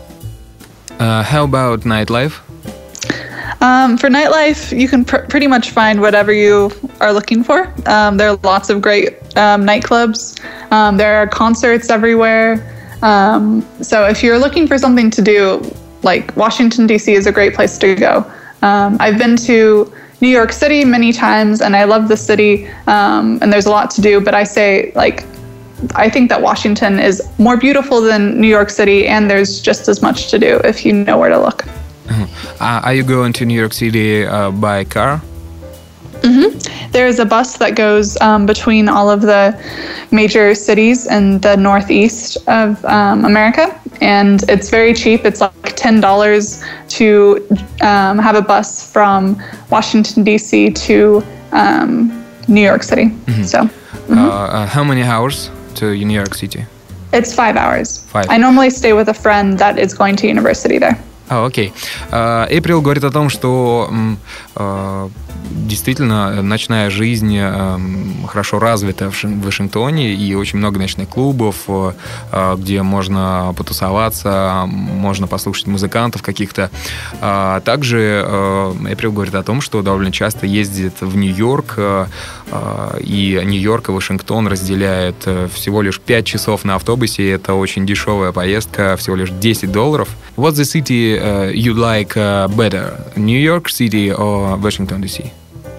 Uh, how about nightlife? Um, for nightlife, you can pr- pretty much find whatever you are looking for. Um, there are lots of great um, nightclubs. Um, there are concerts everywhere. Um, so if you're looking for something to do, like Washington, D C is a great place to go. Um, I've been to New York City many times, and I love the city, um, and there's a lot to do, but I say, like, I think that Washington is more beautiful than New York City, and there's just as much to do if you know where to look. Uh, are you going to New York City uh, by car? Mm-hmm. There is a bus that goes um, between all of the major cities in the northeast of um, America, and it's very cheap. It's like ten dollars to um, have a bus from Washington, D C to um, New York City. Mm-hmm. So, mm-hmm. Uh, uh, how many hours to New York City? It's five hours. Five. I normally stay with a friend that is going to university there. А, окей. Эйприл говорит о том, что э, действительно ночная жизнь э, хорошо развита в Вашингтоне, и очень много ночных клубов, э, где можно потусоваться, можно послушать музыкантов каких-то. А также Эйприл э, говорит о том, что довольно часто ездит в Нью-Йорк, э, э, и Нью-Йорк и Вашингтон разделяет всего лишь пять часов на автобусе. Это очень дешевая поездка, всего лишь десять долларов. What's the city uh, you like uh, better, New York City or Washington, D C?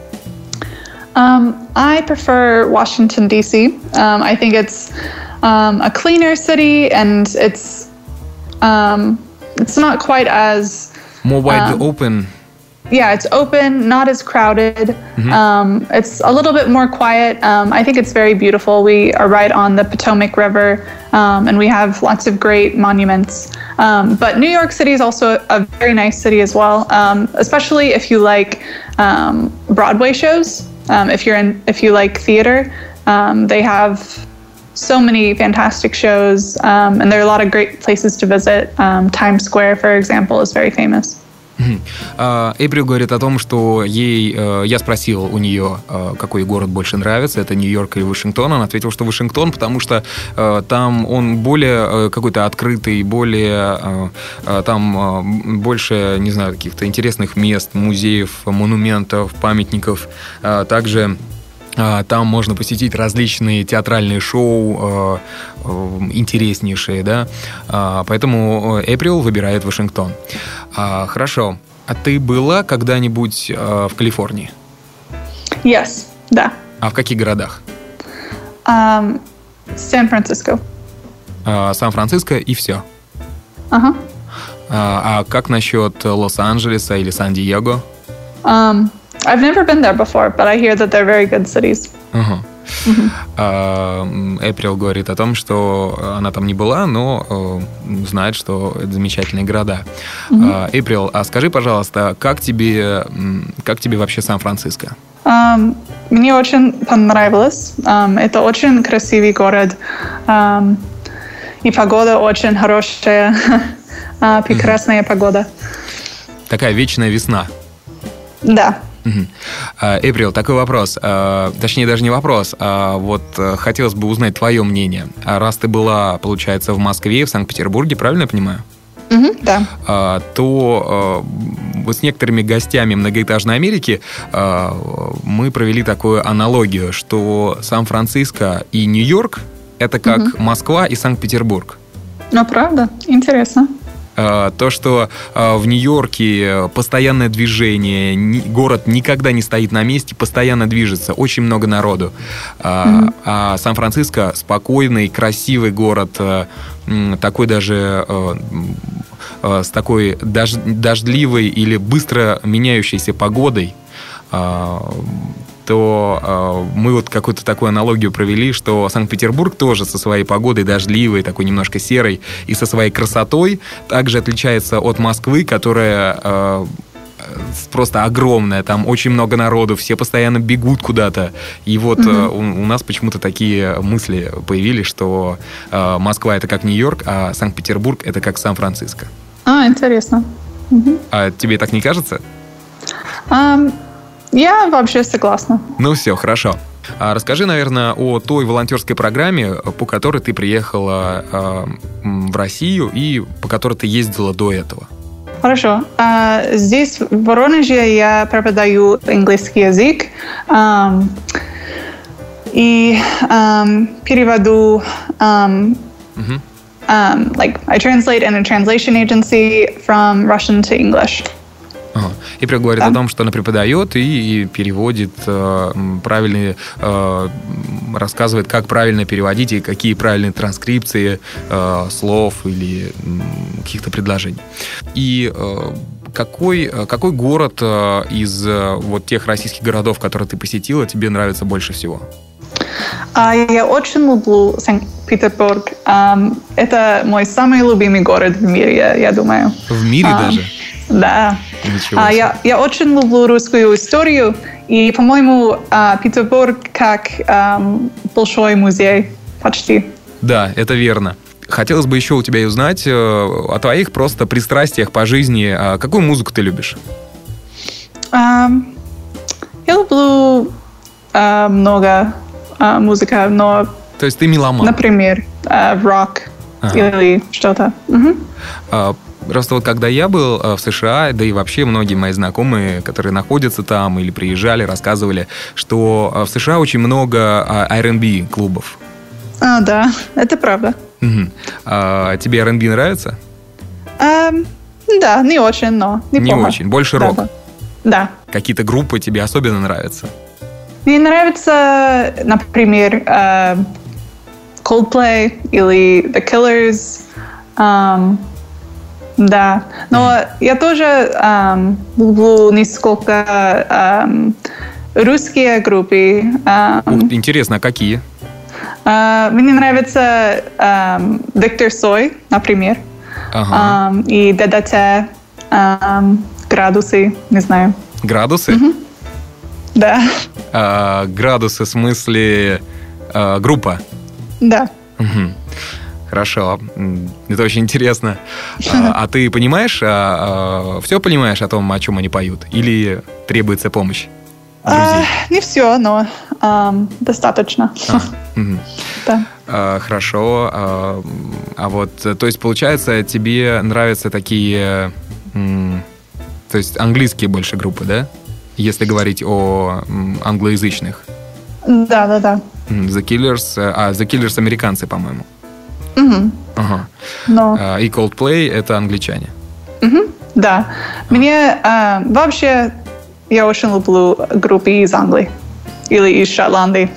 Um, I prefer Washington, D C. Um, I think it's um, a cleaner city, and it's um, it's not quite as more wide um, open. Yeah, it's open, not as crowded. Mm-hmm. Um, it's a little bit more quiet. Um, I think it's very beautiful. We are right on the Potomac River, um, and we have lots of great monuments. Um, but New York City is also a very nice city as well, um, especially if you like um, Broadway shows. Um, if you're in, if you like theater, um, they have so many fantastic shows, um, and there are a lot of great places to visit. Um, Times Square, for example, is very famous. Эйприл говорит о том, что ей, я спросил у нее, какой город больше нравится, это Нью-Йорк или Вашингтон. Она ответила, что Вашингтон, потому что там он более какой-то открытый, более там больше, не знаю, каких-то интересных мест, музеев, монументов, памятников. Также там можно посетить различные театральные шоу, интереснейшие, да. Поэтому Эйприл выбирает Вашингтон. Хорошо. А ты была когда-нибудь в Калифорнии? Yes, да. А в каких городах? Um, Сан-Франциско. Сан-Франциско и все? Ага. Uh-huh. А как насчет Лос-Анджелеса или Сан-Диего? Um, I've never been there before, but I hear that they're very good cities. Uh-huh. Эйприл uh-huh. говорит о том, что она там не была, но uh, знает, что это замечательные города. Эйприл, uh-huh. uh, а скажи, пожалуйста, как тебе, как тебе вообще Сан-Франциско? Um, мне очень понравилось. Um, это очень красивый город. Um, и погода очень хорошая. uh, прекрасная uh-huh. погода. Такая вечная весна. Да. Эйприл, такой вопрос, точнее даже не вопрос, а вот хотелось бы узнать твое мнение. Раз ты была, получается, в Москве, в Санкт-Петербурге, правильно я понимаю? Mm-hmm, да. То вот с некоторыми гостями Многоэтажной Америки мы провели такую аналогию, что Сан-Франциско и Нью-Йорк — это как mm-hmm. Москва и Санкт-Петербург. Ну, правда, интересно. То, что в Нью-Йорке постоянное движение, город никогда не стоит на месте, постоянно движется, очень много народу. Mm-hmm. А Сан-Франциско спокойный, красивый город, такой даже с такой дождливой или быстро меняющейся погодой. То э, мы вот какую-то такую аналогию провели, что Санкт-Петербург тоже со своей погодой дождливой, такой немножко серой, и со своей красотой также отличается от Москвы, которая э, просто огромная, там очень много народу, все постоянно бегут куда-то. И вот mm-hmm. э, у, у нас почему-то такие мысли появились, что э, Москва — это как Нью-Йорк, а Санкт-Петербург — это как Сан-Франциско. А, интересно. Mm-hmm. А тебе так не кажется? Um... Я вообще согласна. Ну все, хорошо. А расскажи, наверное, о той волонтерской программе, по которой ты приехала э, в Россию и по которой ты ездила до этого. Хорошо. А, здесь, в Воронеже, я преподаю английский язык um, и um, переводу um, uh-huh. um, like I translate in a translation agency from Russian to English. Ага. И говорит да. о том, что она преподает и, и переводит э, правильные, э, рассказывает, как правильно переводить и какие правильные транскрипции э, слов или э, каких-то предложений. И э, какой, какой город э, из э, вот тех российских городов, которые ты посетила, тебе нравится больше всего? Я очень люблю Санкт-Петербург. Это мой самый любимый город в мире, я, я думаю. В мире um, даже? Да. Ничего себе. Я, я очень люблю русскую историю, и, по-моему, Петербург как um, большой музей почти. Да, это верно. хотелось бы еще у тебя узнать о твоих просто пристрастиях по жизни. Какую музыку ты любишь? Um, я люблю uh, много uh, музыки, но... То есть ты меломан? Например, uh, рок ага. или что-то. Uh-huh. Uh, Просто вот когда я был в США, да и вообще многие мои знакомые, которые находятся там или приезжали, рассказывали, что в США очень много ар энд би клубов. А, да, это правда. Угу. А тебе ар энд би нравится? А, да, не очень, но неплохо. Не очень, больше рок? Да. да. Какие-то группы тебе особенно нравятся? Мне нравится, например, uh, Coldplay или The Killers. Um, Да, но mm-hmm. я тоже um, люблю несколько um, русские группы. Um, Ух, интересно, а какие? Uh, мне нравится um, Виктор Цой, например, ага. um, и ДДТ, um, Градусы, не знаю. Градусы? Mm-hmm. Да. А, градусы в смысле а, группа? Да. Угу. Хорошо, это очень интересно. А, а ты понимаешь, а, а, все понимаешь о том, о чем они поют? Или требуется помощь друзей? А, не все, но um, достаточно. А, угу. Да. А, хорошо. А, а вот, то есть, получается, тебе нравятся такие, м, то есть, английские больше группы, да? Если говорить о м, англоязычных. Да, да, да. The Killers, а The Killers американцы, по-моему. Угу. Ага. Но... А, и Coldplay — это англичане. Угу. Да. Мне а, вообще я очень люблю группы из Англии или из Шотландии.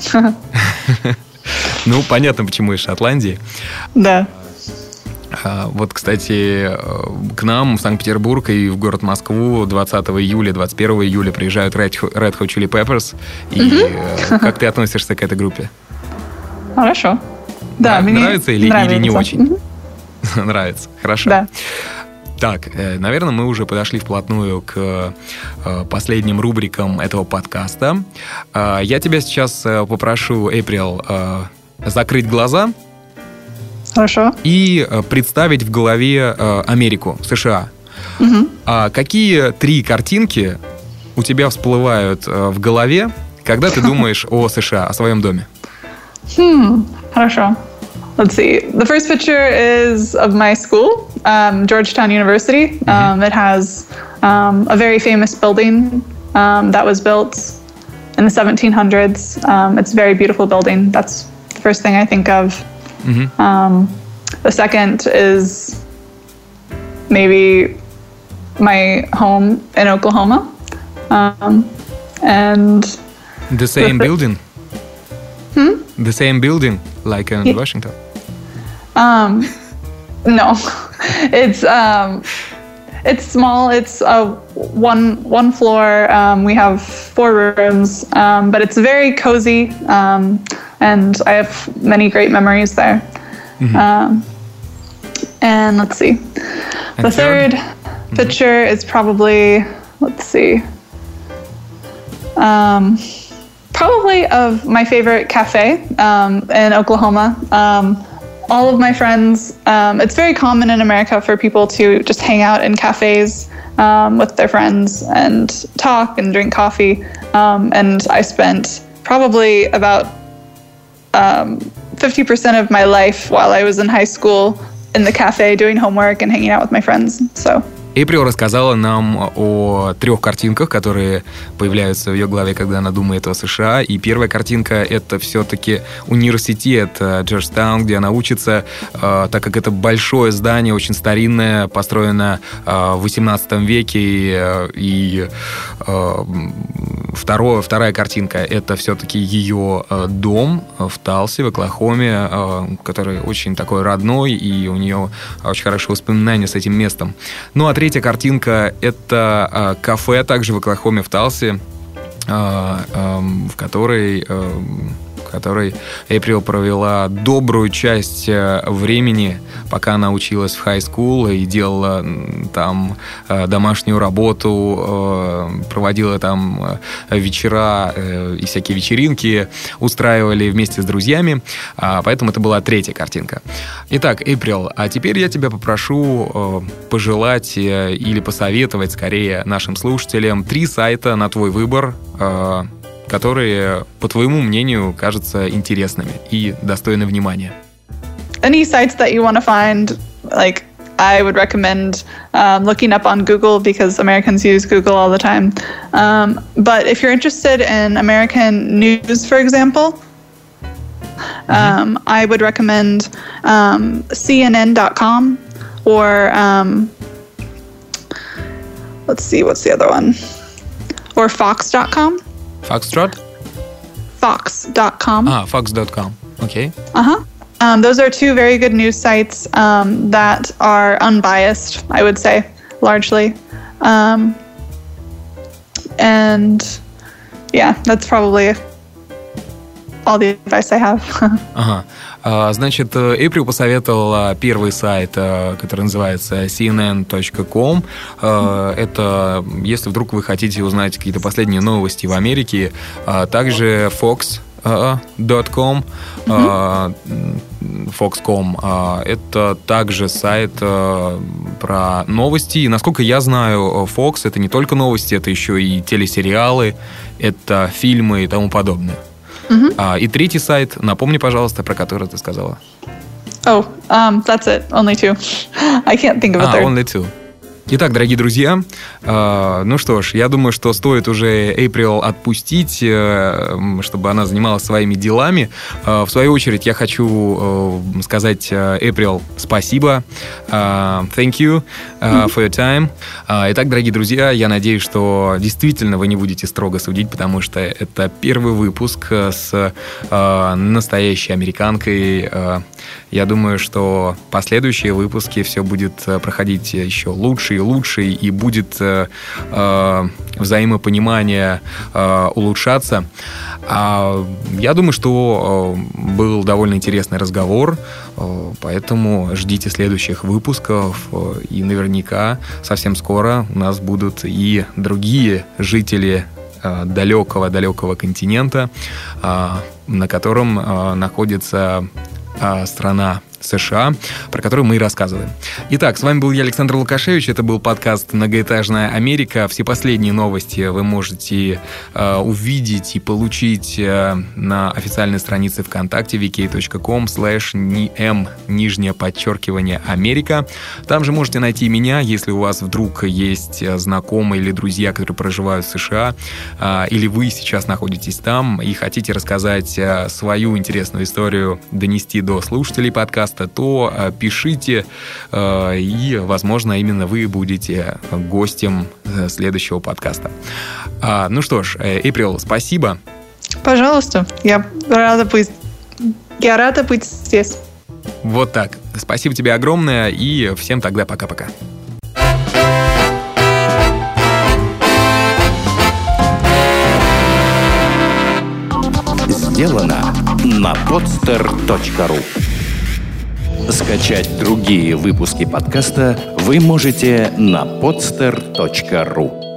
Ну, понятно, почему из Шотландии. Да. Вот, кстати, к нам в Санкт-Петербург и в город Москву двадцатого июля, двадцать первого июля приезжают Red Hot Chili Peppers. И mm-hmm. как ты относишься к этой группе? Хорошо. Да, Нрав- мне нравится или, нравится. или не очень? Mm-hmm. Нравится. Хорошо. Да. Так, наверное, мы уже подошли вплотную к последним рубрикам этого подкаста. Я тебя сейчас попрошу, Эйприл, закрыть глаза. Хорошо. И представить в голове Америку, США. Угу. А какие три картинки у тебя всплывают в голове, когда ты думаешь о США, о своем доме? Hmm. Хорошо. Let's see. The first picture is of my school, um, Georgetown University. Mm-hmm. Um, it has um, a very famous building um, that was built in the seventeen hundreds. Um, it's a very beautiful building. That's the first thing I think of. Mm-hmm. Um, the second is maybe my home in Oklahoma. Um, and the same the th- building? Hmm? The same building, like in yeah. Washington? Um, no, it's um, it's small. It's uh, one one floor. Um, we have four rooms, um, but it's very cozy, um, and I have many great memories there. Mm-hmm. Um, and let's see, and the third, third mm-hmm. picture is probably let's see. Um, Probably of my favorite cafe um, in Oklahoma. Um, all of my friends, um, it's very common in America for people to just hang out in cafes um, with their friends and talk and drink coffee. Um, and I spent probably about um, fifty percent of my life while I was in high school in the cafe doing homework and hanging out with my friends. So. Эйприл рассказала нам о трех картинках, которые появляются в ее голове, когда она думает о США. И первая картинка — это все-таки университет Джорджтаун, где она учится, так как это большое здание, очень старинное, построено в восемнадцатом веке. И второе, вторая картинка — это все-таки ее дом в Талсе, в Оклахоме, который очень такой родной, и у нее очень хорошие воспоминания с этим местом. Ну, а третья картинка — это э, кафе, также в Оклахоме, в Талсе, э, э, в которой, э, в которой Эйприл провела добрую часть времени, пока она училась в хай-скул и делала там домашнюю работу, проводила там вечера и всякие вечеринки, устраивали вместе с друзьями, поэтому это была третья картинка. Итак, Эйприл, а теперь я тебя попрошу пожелать или посоветовать, скорее, нашим слушателям три сайта на твой выбор, которые, по твоему мнению, кажутся интересными и достойны внимания. Any sites that you want to find, like, I would recommend um, looking up on Google because Americans use Google all the time. Um, but if you're interested in American news, for example, mm-hmm. um, I would recommend um, C N N dot com or um, let's see, what's the other one? Or Fox dot com. Foxtrot? Fox dot com. Ah, Fox dot com. Okay. Uh-huh. Um, those are two very good news sites um, that are unbiased, I would say, largely. Um, and yeah, that's probably all the advice I have. Ага. Значит, Эйприл посоветовала первый сайт, который называется си эн эн точка ком. Это, если вдруг вы хотите узнать какие-то последние новости в Америке, также Fox дот ком, mm-hmm. Fox точка ком. Это также сайт про новости. И, насколько я знаю, Fox — это не только новости, это еще и телесериалы, это фильмы и тому подобное. Mm-hmm. А, и третий сайт, напомни, пожалуйста, про который ты сказала. Oh, um, that's it. Only two. I can't think of a third. А, only two. Итак, дорогие друзья, э, ну что ж, я думаю, что стоит уже Эйприл отпустить, э, чтобы она занималась своими делами. Э, в свою очередь, я хочу э, сказать Эйприл спасибо. Uh, thank you uh, for your time. Uh, итак, дорогие друзья, я надеюсь, что действительно вы не будете строго судить, потому что это первый выпуск с uh, настоящей американкой. Uh, я думаю, что последующие выпуски все будет проходить еще лучше и лучше, и будет uh, uh, взаимопонимание uh, улучшаться. Uh, я думаю, что uh, был довольно интересный разговор, uh, поэтому ждите следующих выпусков. выпусков, и наверняка совсем скоро у нас будут и другие жители далекого-далекого континента, на котором находится страна США, про которую мы и рассказываем. Итак, с вами был я, Александр Лукашевич. Это был подкаст «Многоэтажная Америка». Все последние новости вы можете э, увидеть и получить э, на официальной странице ВКонтакте ви кей точка ком слэш эм нижнее подчеркивание Америка. Там же можете найти меня, если у вас вдруг есть знакомые или друзья, которые проживают в США, э, или вы сейчас находитесь там и хотите рассказать э, свою интересную историю, донести до слушателей подкаста, то э, пишите, э, и, возможно, именно вы будете гостем э, следующего подкаста. А, ну что ж, Эйприл, спасибо. Пожалуйста, я рада быть, я рада быть здесь. Вот так. Спасибо тебе огромное, и всем тогда пока-пока. Сделано на подстер точка ру. Скачать другие выпуски подкаста вы можете на подстер точка ру.